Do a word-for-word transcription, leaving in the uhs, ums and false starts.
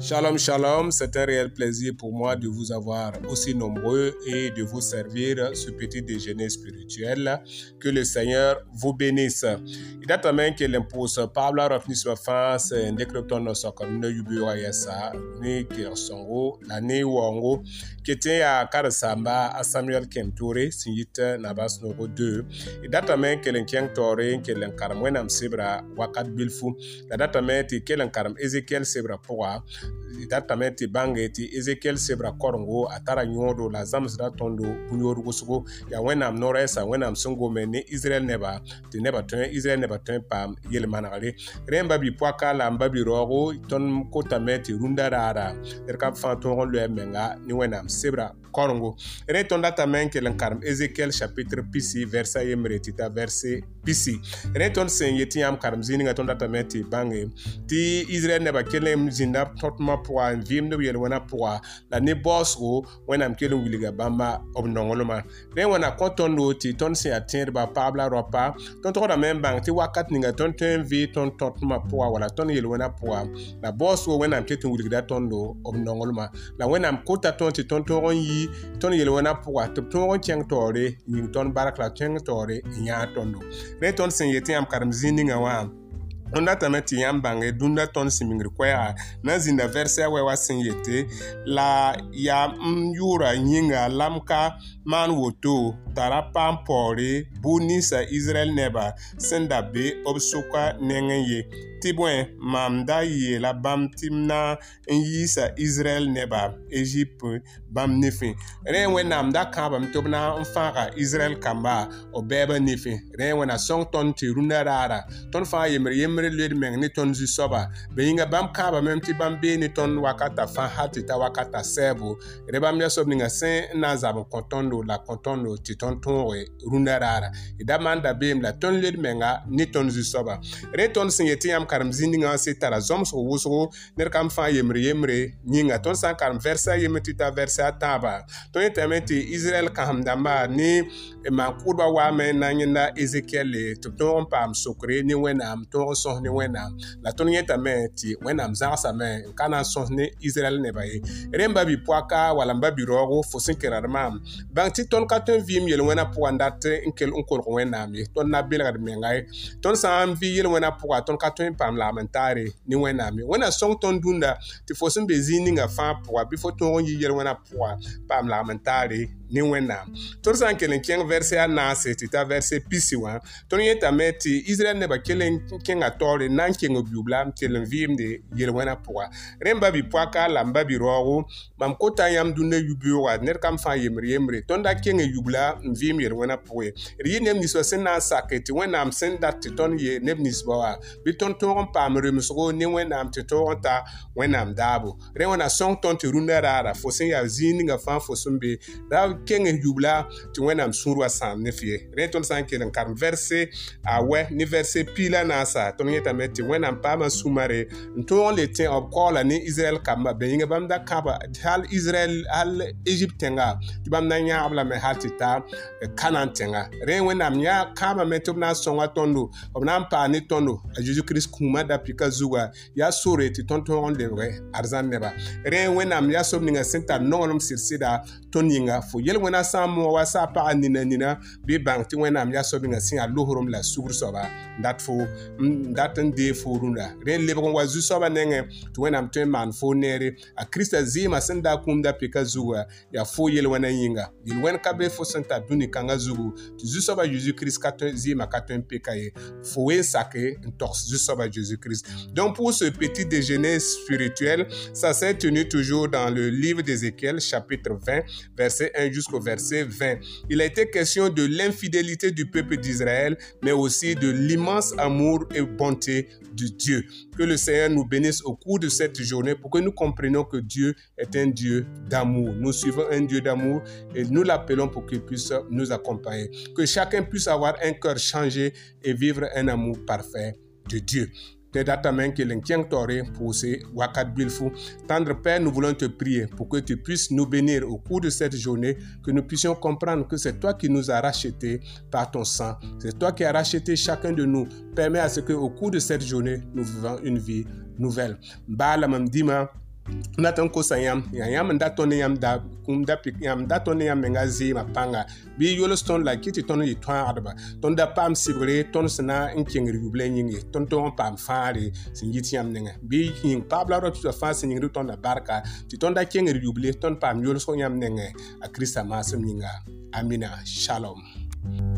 Shalom, shalom, c'est un réel plaisir pour moi de vous avoir aussi nombreux et de vous servir ce petit déjeuner spirituel. Que le Seigneur vous bénisse. Il a também que l'impose Pablo rafni sur face décryptant nos comme ne yubura yasa ni kirsongo la ne wango qui était à Karasamba à Samuel Kemtoure signite Nabas Nogo deux. Il a também que l'enquien tore que l'encarmwenam sebra wakat bilfu. La data meti que l'encarm Ezekiel sebra poa. Datame ti bange ti Ezekiel sebra korongo atara nyodo la zamsra tondo bunyoru gosugo ya wenam noresa wenam sungo meni Israel neba ti neba tun Israel neba tun pam yel manale remba bi poaka la mbabi rogo ton kotame ti runda rara erka fanton le menga ni wenam sebra korongo re ton datame ke lankarm Ezekiel chapitre pisi verset yemre tita verset pisi re ton sen yeti am karm zini ton datame ti bange ti Israel neba kelem zinda totma pour un vim de yel wana pour la ne boss o wana mkelo wiliga bamba obnongoloma re wana kontondo ti ton se atteindre ba pabla ropa ton to da même bank ti wakat ninga ton ten vi ton totma pour wala ton yel wana pour la boss o wana mketo wiliga tondo obnongoloma la wana mkota ton ti ton to yi ton yel wana pour to ton tiang tore ning ton barakla tiang tore nya tondo re ton se yeti am karam zininga wa Onda tameti yambange dunda ton simingri kwea na zinda verse wewa sinyete la ya myura nyinga lamka man woto tarapa mpore bunisa Israel neba senda be obsuka nengenye tibwen mamda ye la bam timna yisa Israel neba Egypte bam nefi renwe namda kaba mtobna mfaka Israel kamba obeba nefi renwe na song ton tiruna rara ton fa yemre yemre led meng ni ton zu soba be yinga bam kaba mem ti bam be ni ton wakata fa hati ta wakata sebo reba mya sobni nga sen na zabo kontondo la kontondo ti ton tonwe runa rara idamanda bem la ton led menga ni ton zu soba re ton sin yeti am karam zindinga se tara zom so wuso ner kam fa yemre yemre nyinga ton san karam versa yemeti ta versa taba ton yetameti Israel kam damba ni ma kurba wa men na nyina Ezekiel to ton pam sokre ni wenam to so ni wenam la ton yetameti wenam za sa men kana so ni Israel ne baye remba bi poaka wala mbabi rogo fo sinkerarma bang ti ton ka ton vim yel wena po andate inkel onkol wenam ye ton na belga mengai ton sam vi yel wena po ton ka ton pam lamentare ni wenam wena song ton dunda ti fo sin bezini nga fa po bi fo ton yi yel wena po pam lamentare ni wenam ton san kelen ken verset na se ti ta verset pisi wa ton yeta meti Israel ne ba kelen ken atore nan ken obubla kelen vim de yel wena po remba bi poaka la mbabi rogo mam kota yam dunne yubiwa ner kam fa yemre yemre ton da ken yubla vim yel wena po ri nem ni so sen na saketi wenam sen dat ton ye nem ni sbawa bi ton ton pam remso ni wenam te ton ta wenam dabo re wona song ton te runda rara fo sen ya zini nga fa fo sumbe da ken yubla ti wenam surwa sam ne fie re ton san ken kam verset a we ni verset pila na sa ton yeta meti wenam pama sumare ton le ten of call ni Israel kamba be yinga bam da kaba hal Israel hal Egypt tenga ti bam na nya abla me hatita Canaan tenga re wenam nya kama metum na songa tondo obna pa ni tondo a Jesus Christ kuma da pika zuwa ya sore ti tonton de we arzan neba re wenam ya sob ninga senta nongolum sirsida toninga fo yel wena samo wa sa pa anina nina bi bang ti wenam ya sob ninga sin a lohorum la sugur soba dat fo dat de fo runda re lebon wa zu soba nenge to wenam to man fo nere a Christa zima senda kumda pika zuwa ya fo yel wena yinga yel wen kabe fo senta duni kanga zugu ti zu soba Jesus Christ katon zima katon pika ye fo we sake ntox zu soba Jesus Christ. Donc pour ce petit déjeuner spirituel, ça s'est tenu toujours dans le livre d'Ézéchiel chapitre vingt verset un jusqu'au verset vingt. Il a été question de l'infidélité du peuple d'Israël, mais aussi de l'immense amour et bonté de Dieu. Que le Seigneur nous bénisse au cours de cette journée pour que nous comprenions que Dieu est un Dieu d'amour. Nous suivons un Dieu d'amour et nous l'appelons pour qu'il puisse nous accompagner. Que chacun puisse avoir un cœur changé et vivre un amour parfait de Dieu. Tendre Père, nous voulons te prier pour que tu puisses nous bénir au cours de cette journée, que nous puissions comprendre que c'est toi qui nous as rachetés par ton sang. C'est toi qui as racheté chacun de nous. Permets à ce qu'au cours de cette journée, nous vivons une vie nouvelle. Bala Mamdima, Natan ko sayam ya yam nda ton yam da kum da pik yam da ton yam menga zi ma panga bi yolston la kiti ton yi twa adba ton da pam sibre ton sna in king ruble nyingi ton ton pam faare sin yiti yam nenga bi king pabla ro tu fa sin ngi ton da barka ti ton da king ruble ton pam yolso yam nenga a krista masum nyinga amina shalom.